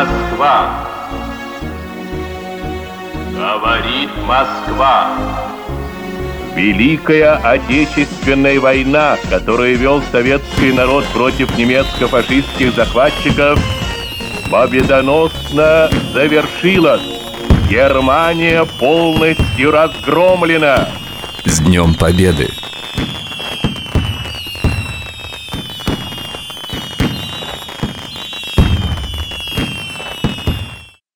Москва. Говорит Москва. Великая Отечественная война, которую вел советский народ против немецко-фашистских захватчиков, победоносно завершилась. Германия полностью разгромлена. С Днем Победы!